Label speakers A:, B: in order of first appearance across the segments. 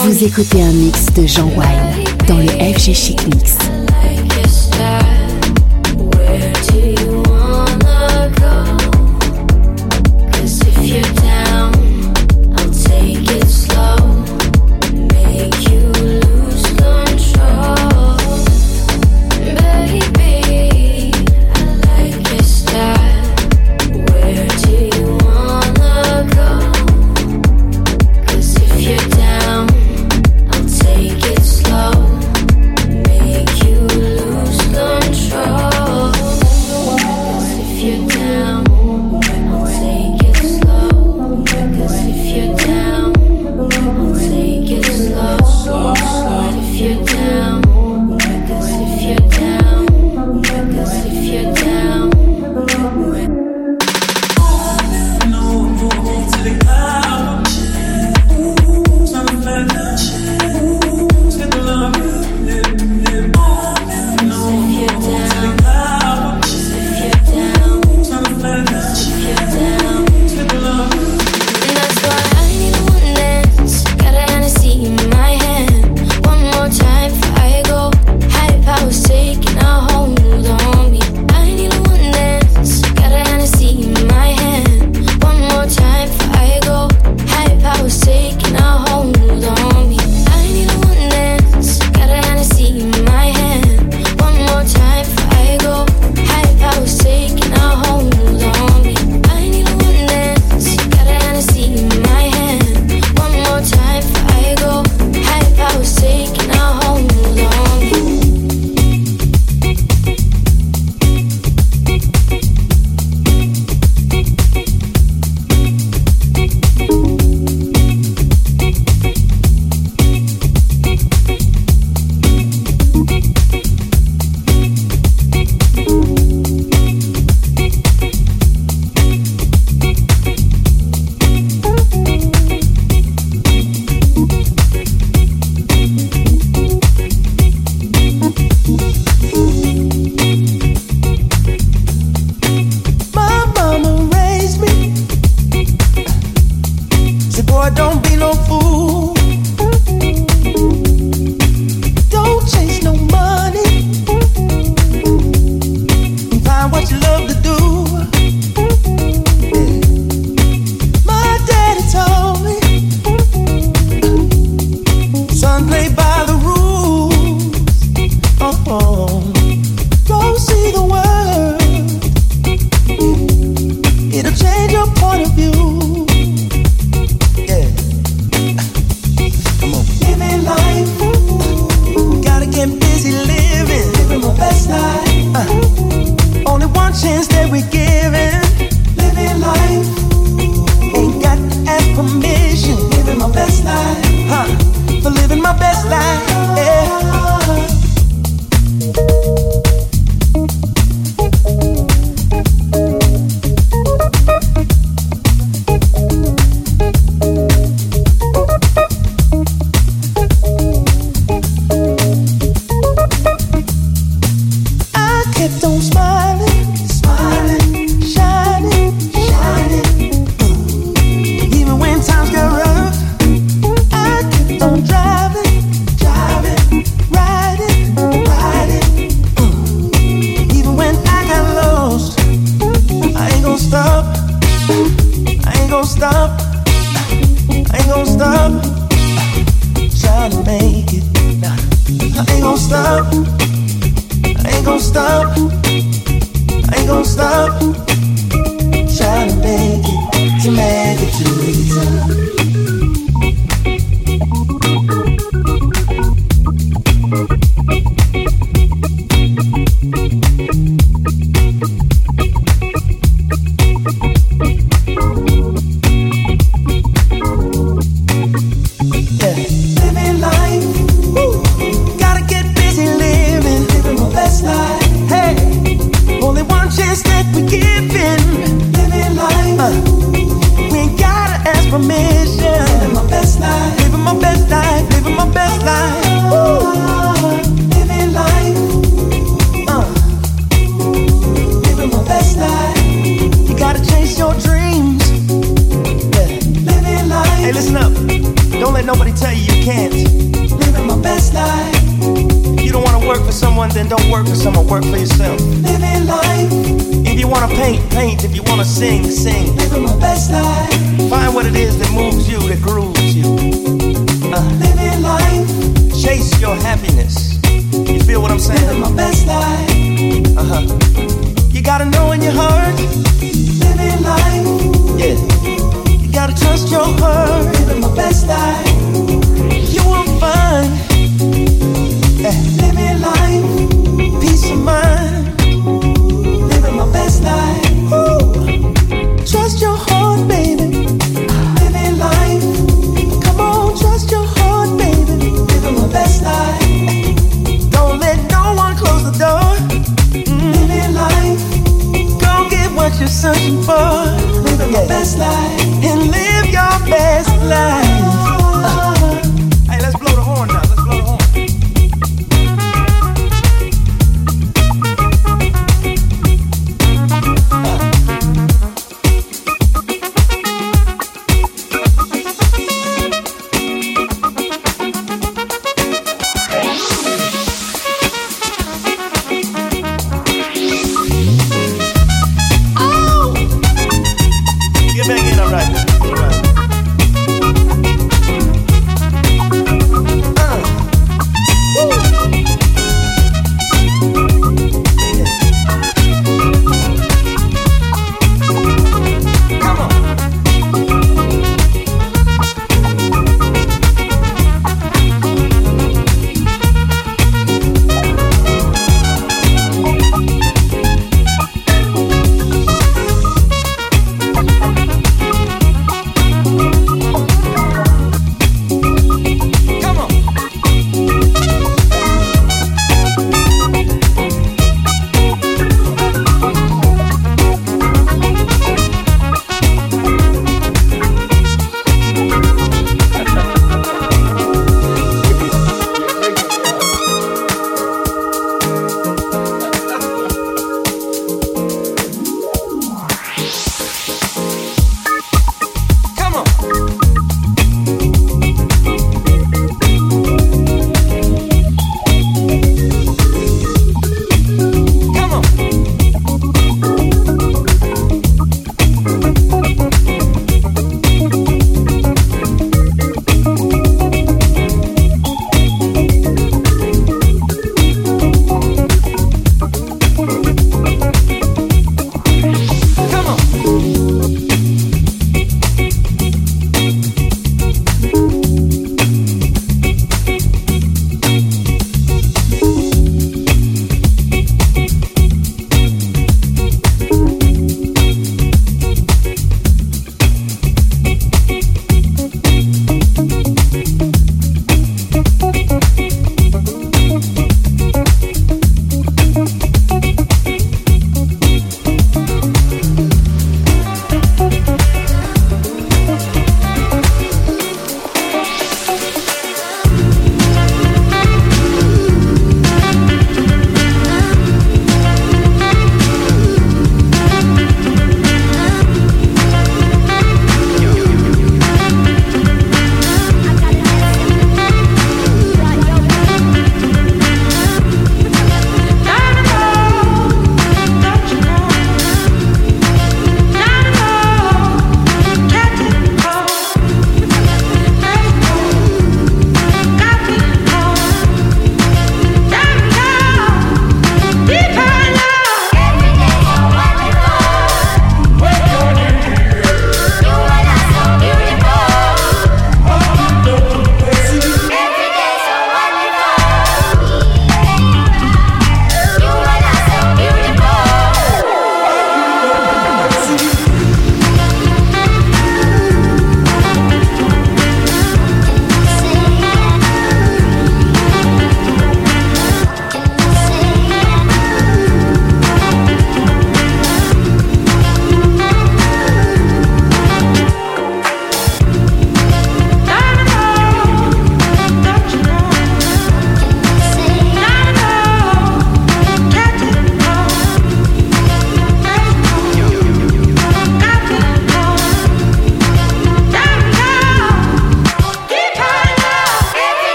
A: Vous écoutez un mix de Jean Wine dans le FG Chic Mix.
B: Don't let nobody tell tell you you can't.
C: Living my best life.
B: If you don't want to work for someone, then don't work for someone. Work for yourself.
C: Living life.
B: If you want to paint, paint. If you want to sing, sing.
C: Living my best life.
B: Find what it is that moves you, that grooves you.
C: Living life.
B: Chase your happiness. You feel what I'm saying?
C: Living my best life.
B: You gotta know in your heart.
C: Living life.
B: Yeah. You gotta trust your heart.
C: Living my best life.
B: You will find
C: living life.
B: Peace of mind.
C: Living my best life.
B: Ooh. Trust your heart, baby.
C: Living life.
B: Come on.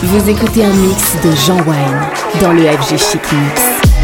A: Vous écoutez un mix de Jean Wine dans le FG Chic Mix.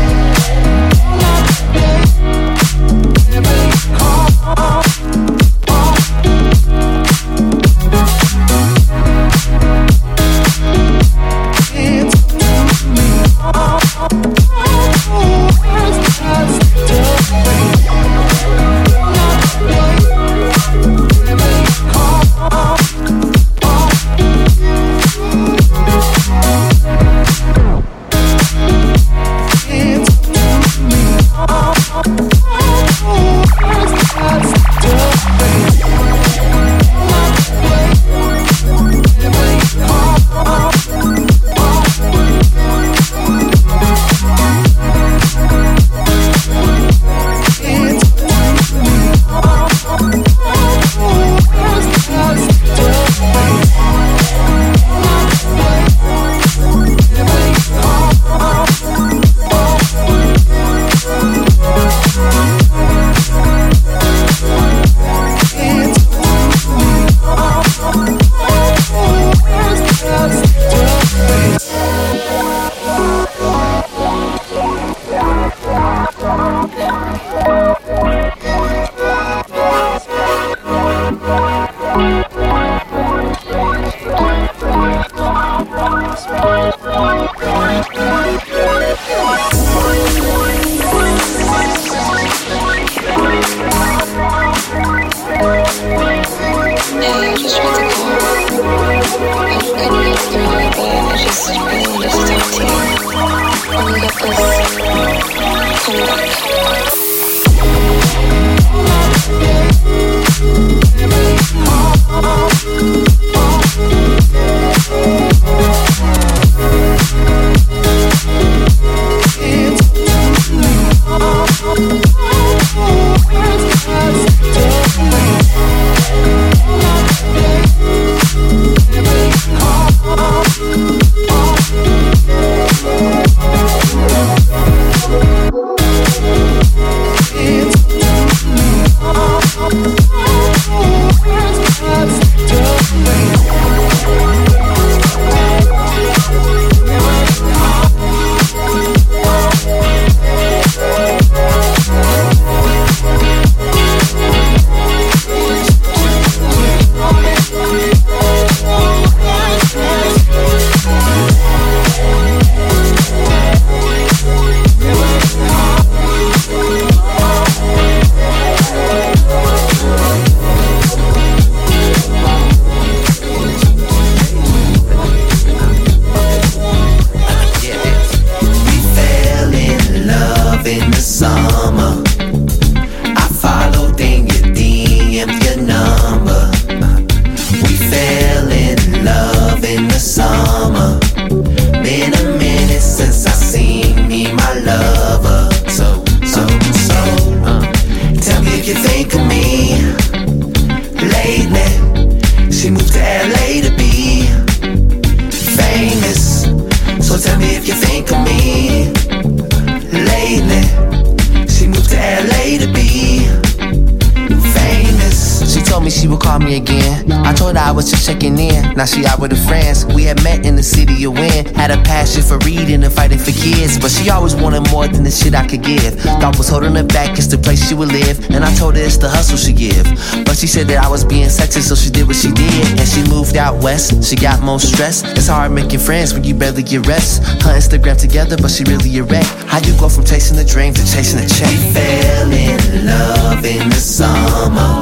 D: Now she out with her friends. We had met in the city of Wynn. Had a passion for reading and fighting for kids, but she always wanted more than the shit I could give. Thought was holding her back, it's the place she would live. And I told her it's the hustle she give. But she said that I was being sexy, so she did what she did. And she moved out west, she got more stress. It's hard making friends when you barely get rest. Her Instagram together, but she really a wreck. How you go from chasing the dream to chasing a check?
E: We fell in love in the summer.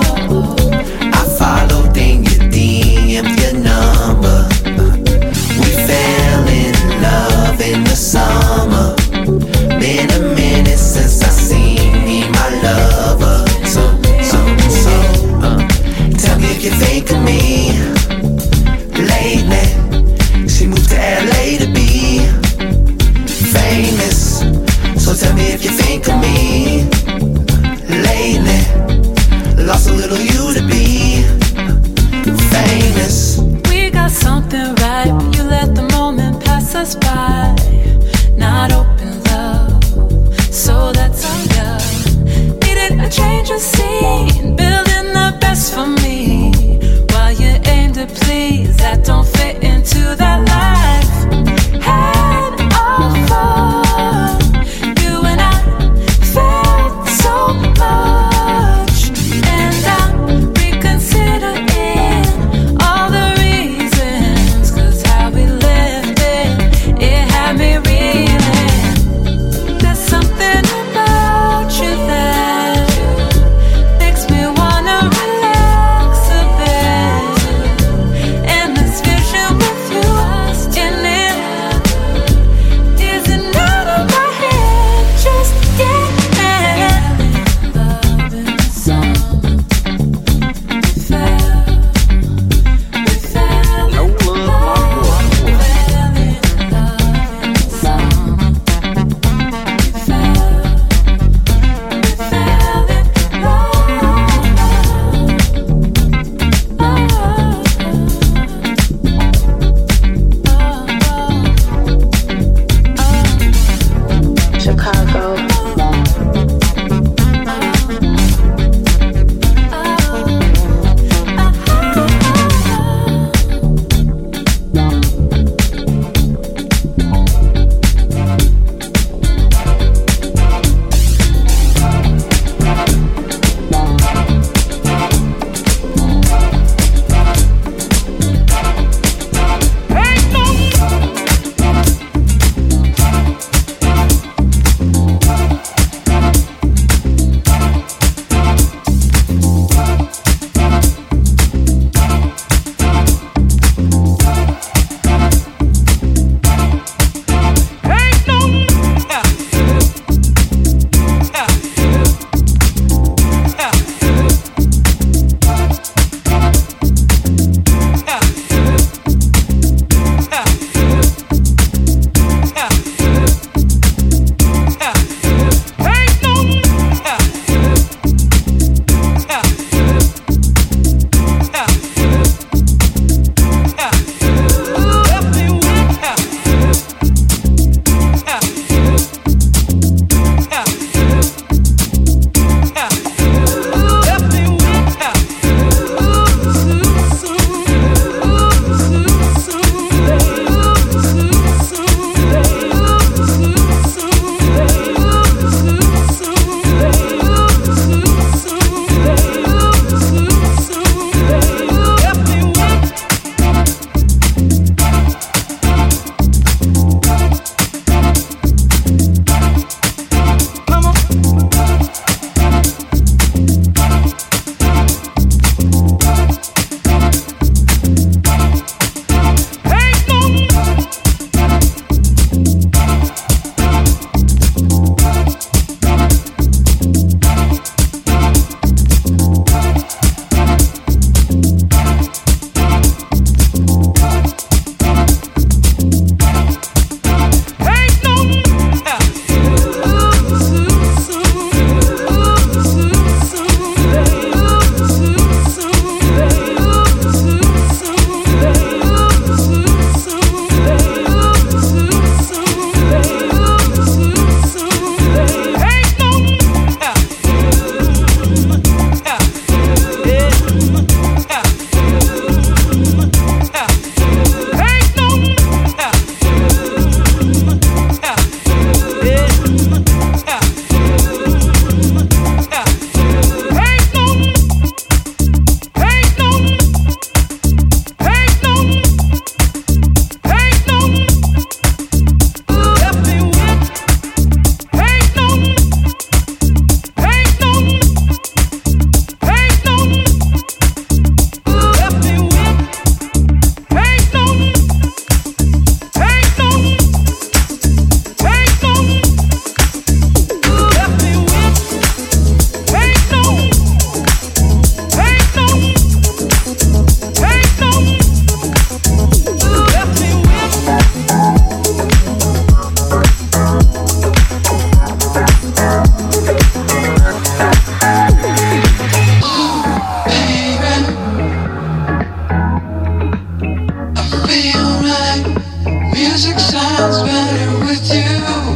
E: I followed in your DM, your number. We fell in love in the summer. Been a minute since I seen me, my lover. So, tell me if you think of me lately. She moved to LA to be famous. So tell me if you think of me lately. Lost a little you to be famous.
F: We got something right, but you let the moment pass us by. Not open love, so that's on love. Needed a change of scene, building the best for me. While you aim to please, that don't fit into that life.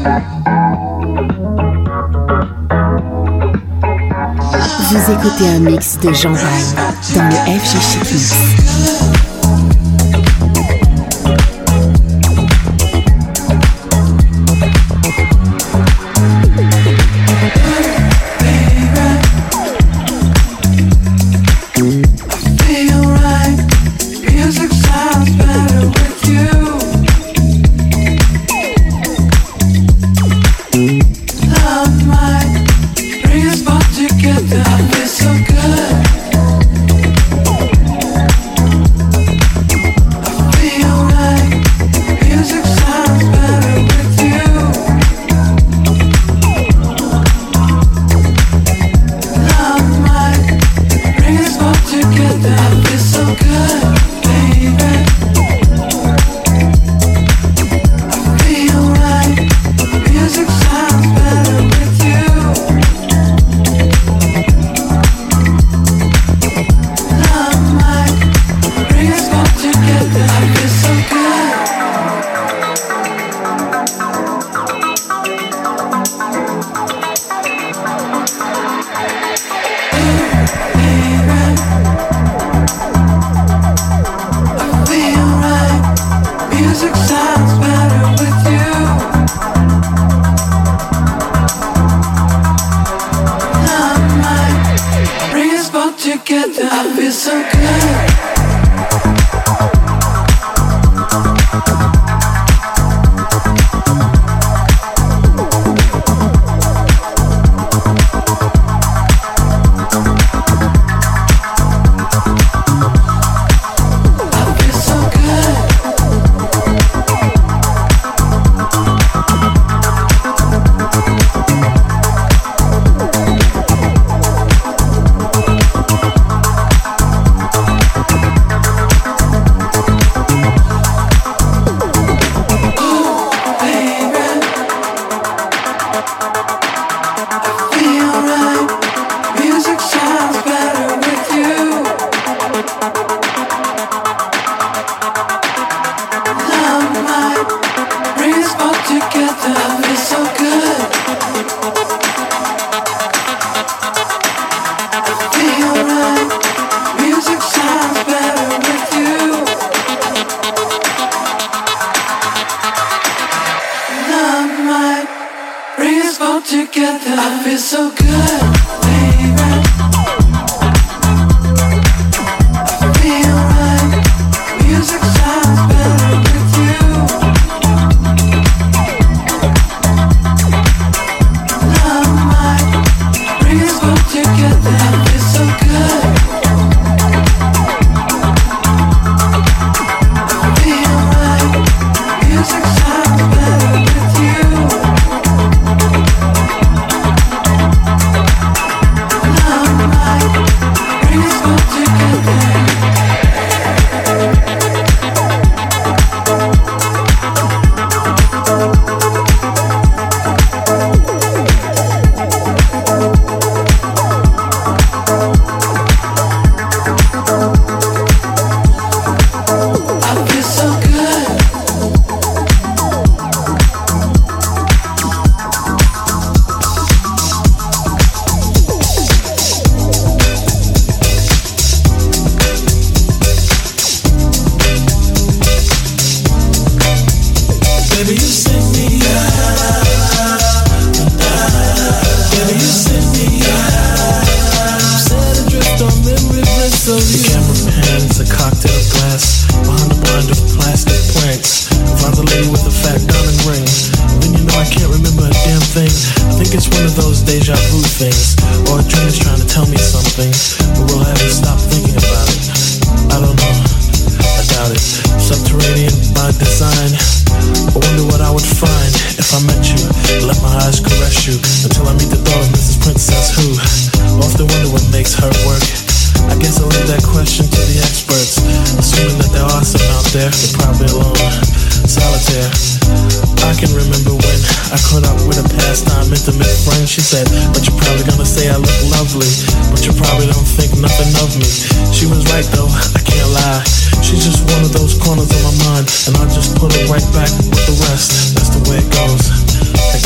A: Vous écoutez un mix de Jean Wine dans le FG Chic Mix.
G: And I just put it right back with the rest. That's the way it goes. I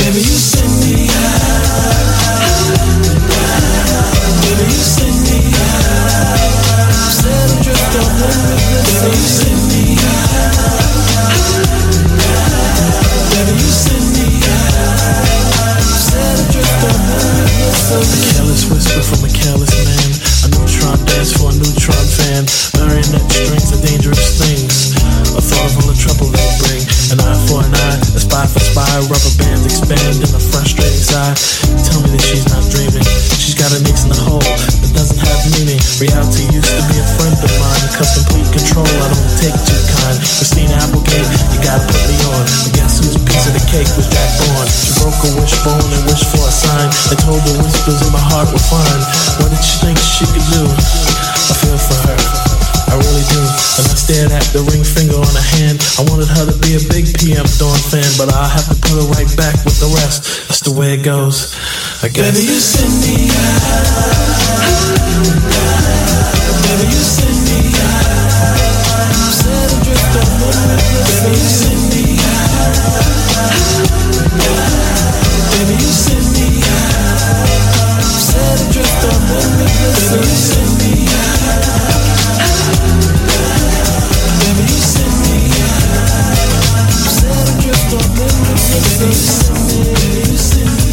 G: An eye for an eye, a spy for spy. Rubber bands expand in a frustrating sigh. Tell me that she's not dreaming. She's got an ace in the hole that doesn't have meaning. Reality used to be a friend of mine. Cause complete control, I don't take too kind. Christina Applegate, you gotta put me on. But guess whose piece of the cake was Jack Bourne? She broke a wishbone and wished for a sign. And told the whispers in my heart were fine. What did she think she could do? I feel for her, I really do. And I stared at the ring finger on her hand. I wanted her to be a big PM Dawn fan, but I'll have to put her right back with the rest. That's the way it goes, I guess. Baby, you send me out. Baby, you send me out. Set adrift on the river. Baby, you send me out. Baby, you send me out. Set adrift on the river. Baby, you send me out. Baby, you send me out. Set adrift on the river. Baby, you send me out. Baby, you send me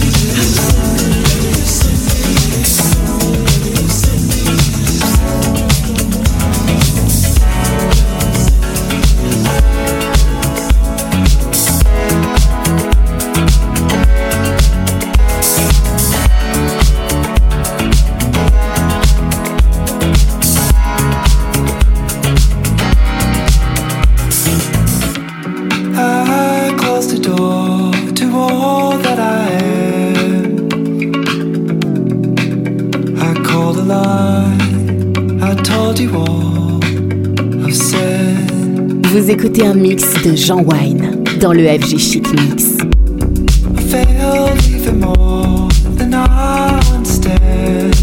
A: Vous écoutez un mix de Jean Wine dans le FG Chic Mix.
C: I failed even more than I once did.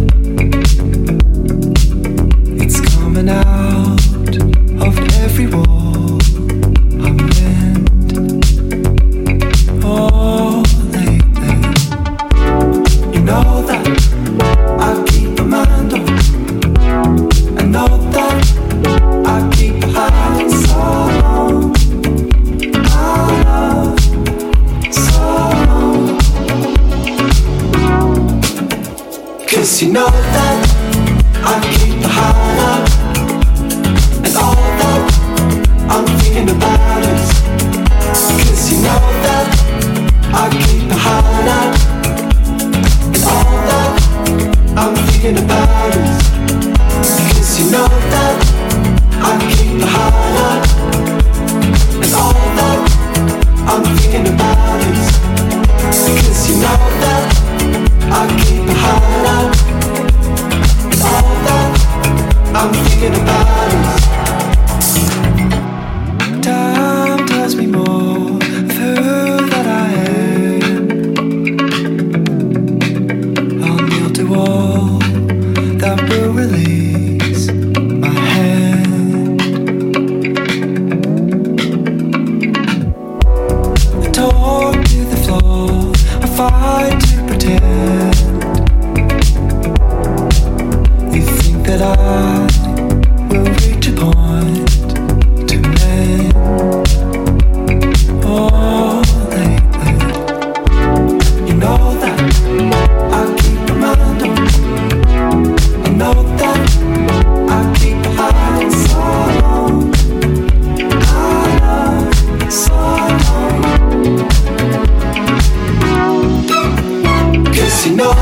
C: It's coming out of every wall I'm in. Oh, lately, you know that I keep a mind on. I know that I keep a hiding so long. I love so long. 'Cause you know that I keep a high up. And all that I'm thinking about is 'cause you know that I keep a high up. And all that I'm thinking about is 'cause you know that I keep a high up. And all that I'm thinking about is 'cause you know that I keep a high up. And all that I'm thinking about is time tells me more of who that I am. I'll kneel to all that will release my hand. I talk to the floor, I fight to pretend. You think that I will reach a point to mend. Oh, lately, you know that I keep a mind on. I know that I keep hiding so long. I love so long. 'Cause you know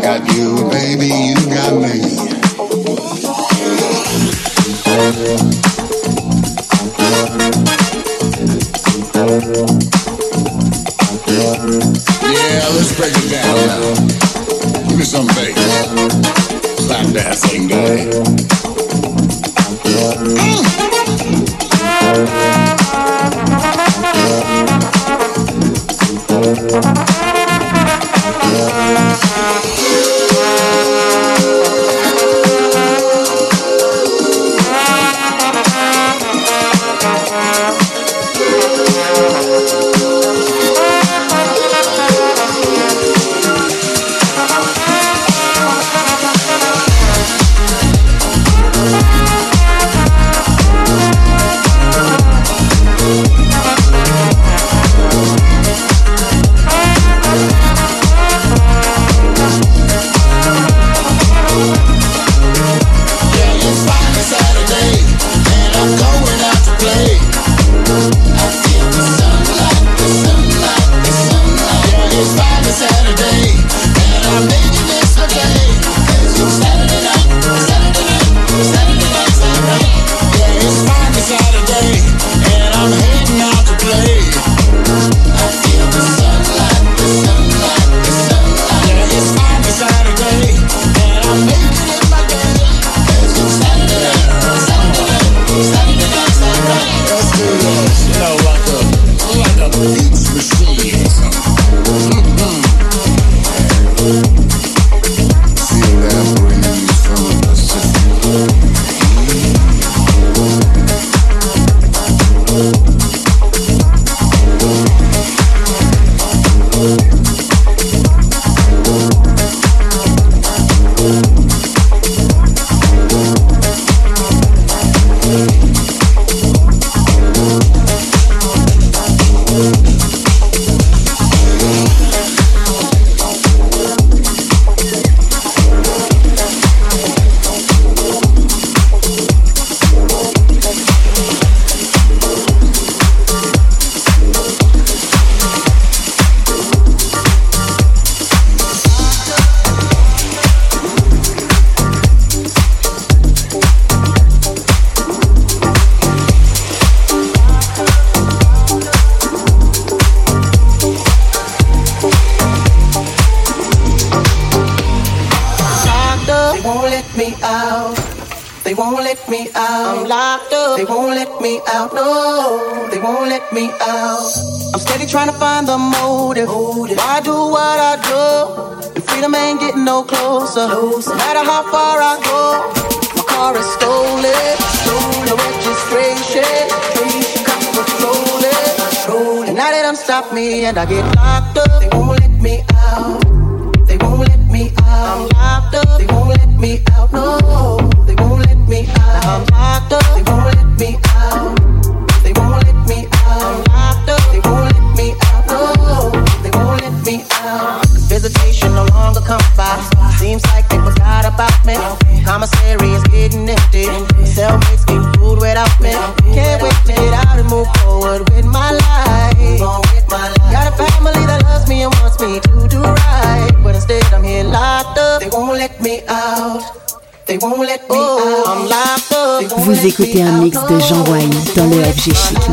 H: got you, baby, you got me. Yeah, let's break it down now. Give me some bass. Slap that thing, daddy.
I: Trying to find the motive. Why do what I do? And freedom ain't getting no closer. No matter how far I go, my car is stolen. No registration. Cops patrolling. And now they done stop me and I get locked up. They won't let me out. They won't let me out. I'm locked up. They won't let me out. No, they won't let me out. Now I'm locked up. They won't let me out. They won't let me out. I'm locked up. They won't let me out. No, they won't let me out. Visitation no longer comes by. Seems like they forgot about me. Commissary is getting empty. Cellmates getting food without me. Can't wait to get out and move forward with my life. Got a family that loves me and wants me to do right, but instead I'm here locked up. They won't let me out. They won't let me out. I'm locked up.
A: Vous écoutez un mix de Jean Wine dans le FG Chic Mix.
I: They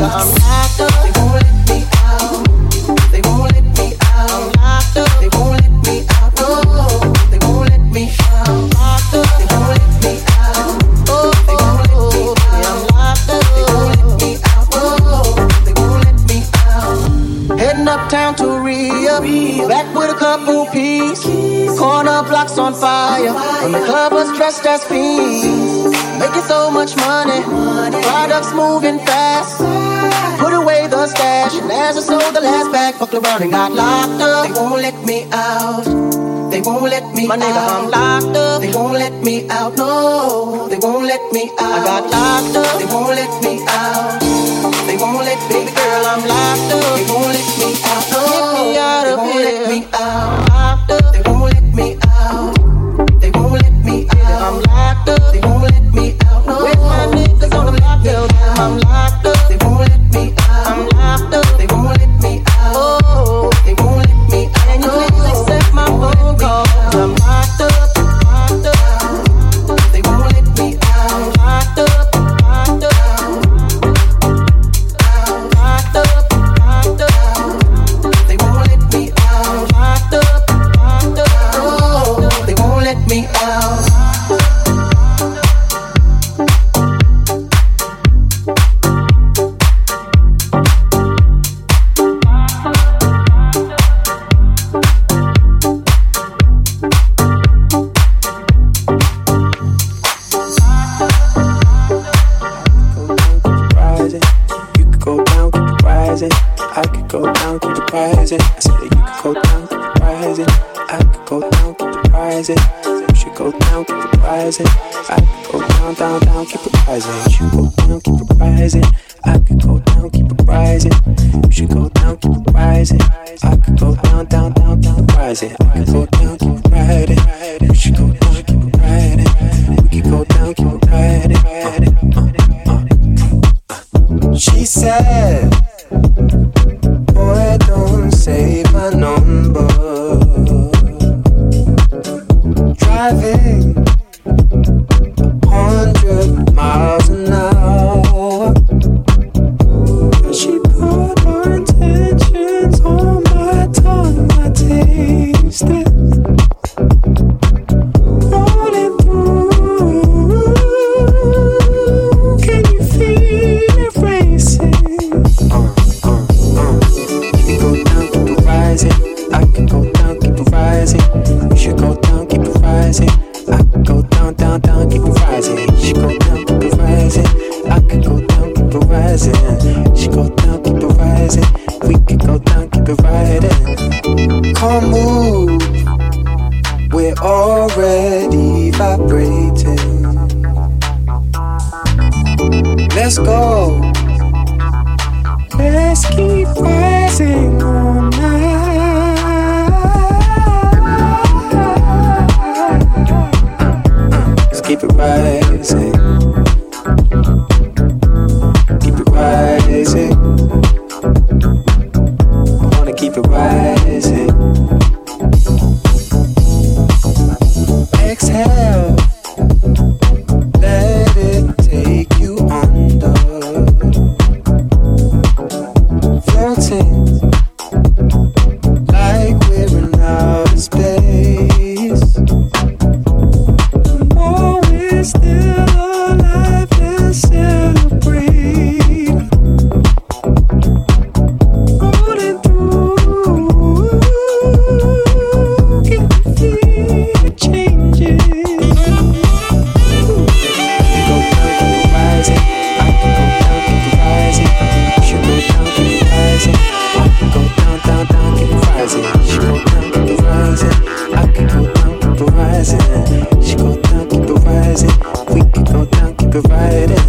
I: won't let me out. They won't let me out. I'm locked up. They won't let me out. No, they won't let me out. I'm locked up. They won't let me out. Oh, they won't let me out. I'm locked up. They won't let me out. No, they won't let me out. Heading uptown to Rio, back with a couple P's. Corner blocks on fire, and the club was dressed as fiends. Making so much money, products moving fast. Put away the stash, and as I sold the last bag, fucked around and got locked up. They won't let me out. They won't let me out. My nigga, I'm locked up. They won't let me out. No, they won't let me out. I got locked up. They won't let me out. They won't let me, girl, I'm locked up. They won't let me out. No, they won't let me out. Locked up. They won't let me out. They won't let me out. I'm locked up. They won't let me out. No, with my niggas on the block, I'm locked up. They won't let me out. I'm locked up. They won't let me out. Oh, they won't let me out. And you please accept my phone call. I'm locked up.
J: rising. We should go down, keep it rising. I could go down, down, down, keep it rising. We should go down, keep it rising. I could go down, keep it rising. We should go down, keep it rising. I could go down, down, down, down, rising. I could go down, keep it riding. We should go down, keep it riding. We could go down, keep it riding. She said, boy, don't save my number. Driving 100 miles an hour. She put her intentions on my tongue. I taste it rolling through. Can you feel it racing? You can go down, keep it rising. I can go down, keep it rising. You should go down, keep it rising. I can go down, down, down, keep it rising. You should go down, keep it rising. I can go down, keep it rising. You should go down, keep it rising. We can go down, keep it riding. Come move, we're already vibrating. Let's go. Let's keep rising all night. Let's keep it rising. Keep it rising. I wanna keep it rising. Exhale. Let it take you under. Floating like we're in outer space. The more we're still alive, let's celebrate. Rolling through, can you feel it changing? Go down, keep it rising. I can go down, keep it rising. You should go down, keep it rising. I can go down, down, down, keep it rising. You should go down, keep it rising. I can go down, keep it rising. You should go down, keep it rising. We can go down, keep it riding.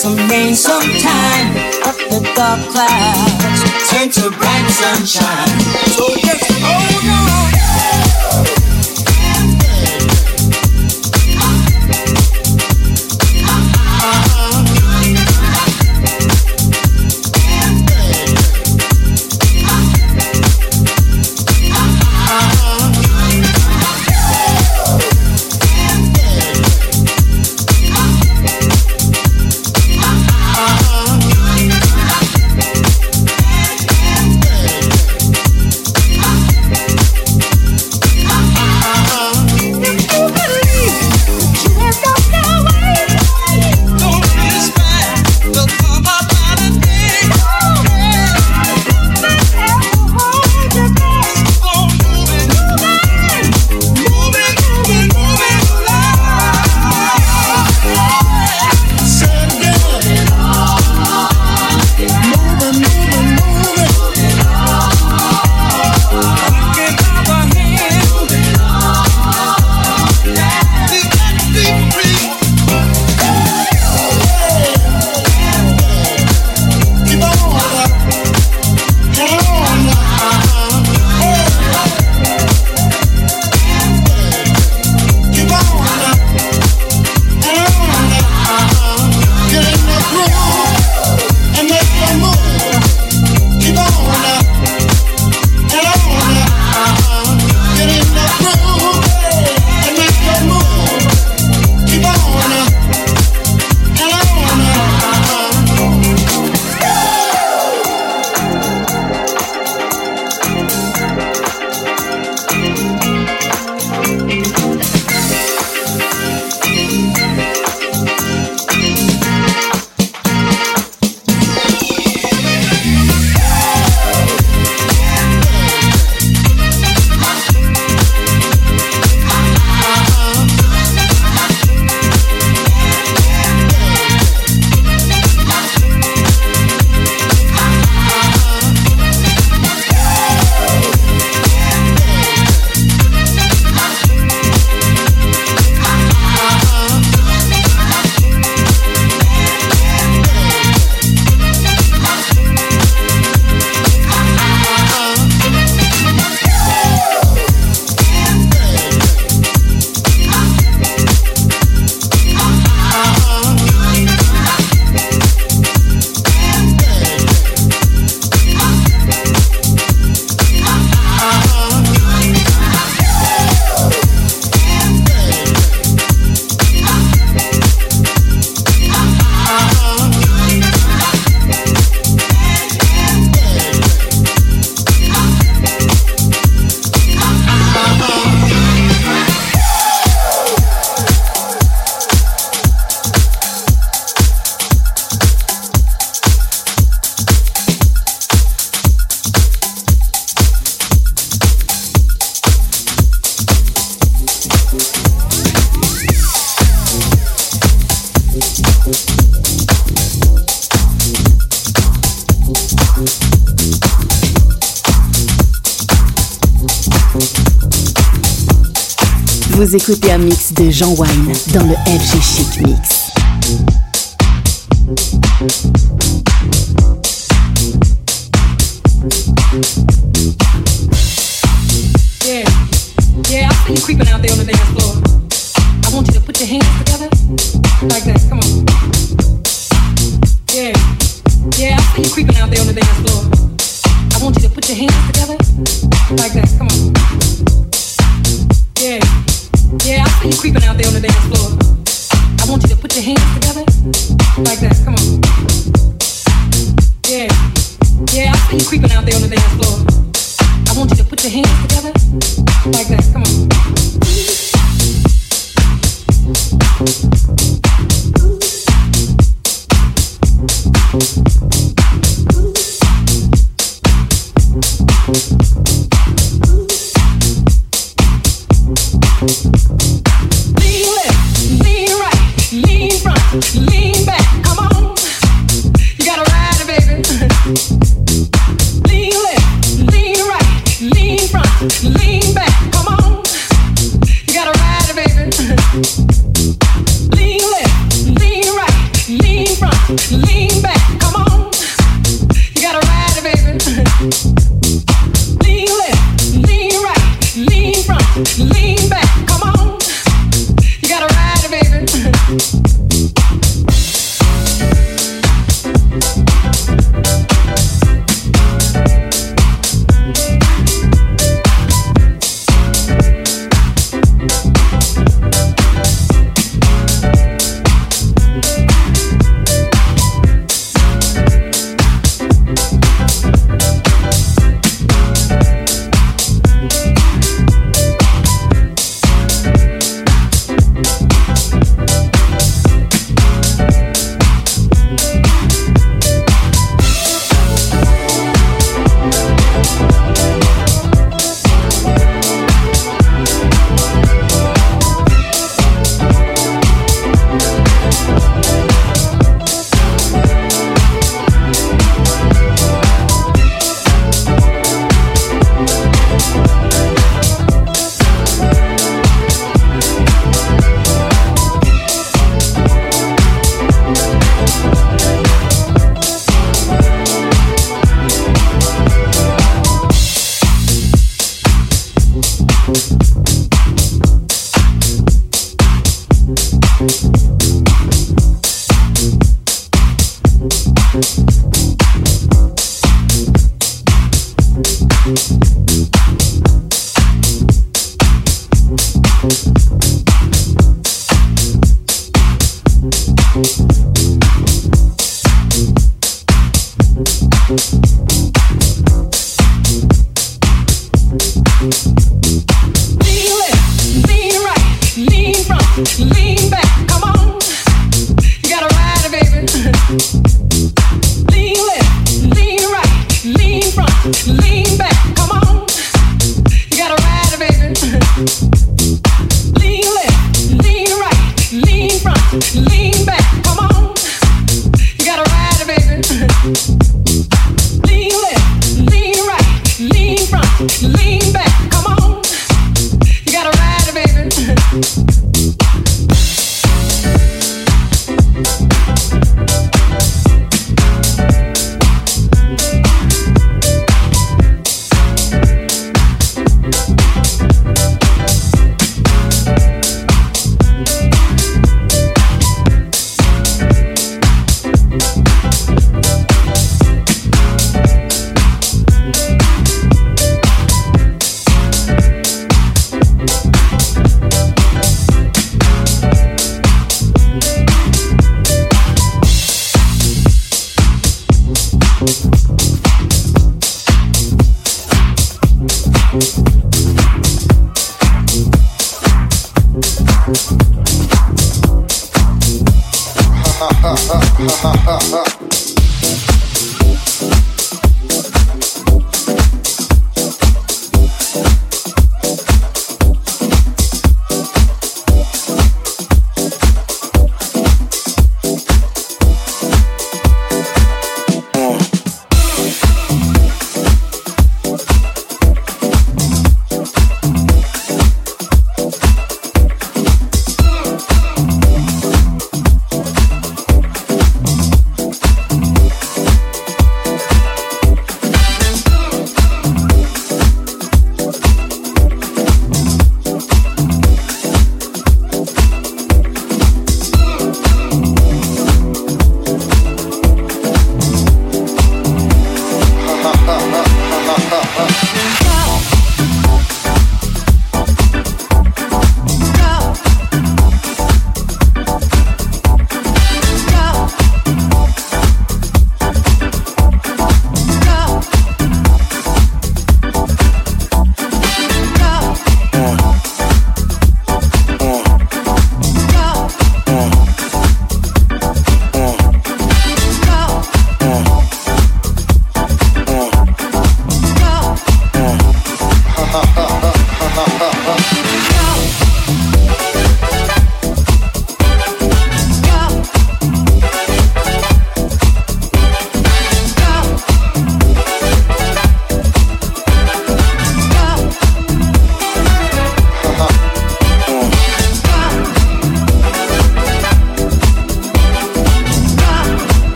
K: some rain sometime, but the dark clouds turn to bright sunshine. So let's hold on.
A: Vous écoutez un mix de Jean Wine dans le FG Chic Mix.
L: Yeah, yeah, I see you creeping out there on the dance floor. I want you to put your hands together like that. Come on. Yeah, yeah, I see you creeping out there on the dance floor. I want you to put your hands together like that. Come on. Yeah, yeah, I see you creeping out there on the dance floor. I want you to put your hands together like that. Come on. Yeah, yeah, I see you creeping out there on the dance floor. I want you to put your hands together like that. Come on. Lean left, lean right, lean front, lean back. Come on, you gotta ride it, baby. Lean left, lean right, lean front, lean back. Come on, you gotta ride it, baby. Lean left, lean right, lean front, lean back, come on. You gotta ride it, baby. Lean left, lean right, lean front, lean back, come on. You gotta ride it, baby.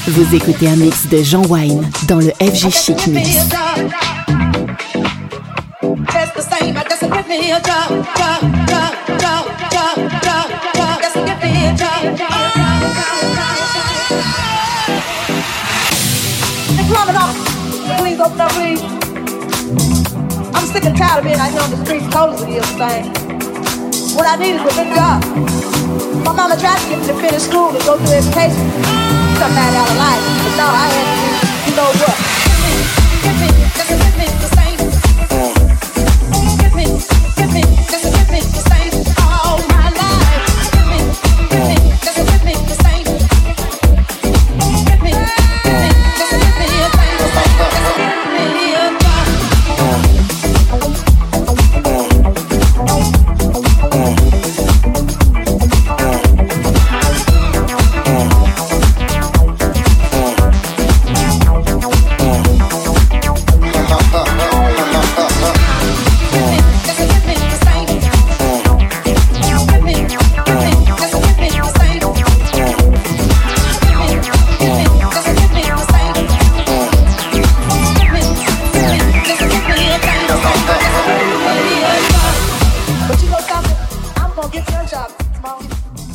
A: Vous écoutez un mix de Jean Wine dans le FG Chic Mix.
I: That's the same, I just give me a job. Just give me a job. Hey, plumb it up. Please open up, please. I'm sick and tired of being out here on the streets cold as it is, thing. What I need is a good job. My mama tried to get me to finish school and go through education. Something out of life. But no, I had to do, you know what? Give me, just give me the same. Give me, just give me the same. All my life. Give me, just give me the same. Give me, just give me a thing. Just give me a job. But you know something? I'm gonna get your job tomorrow.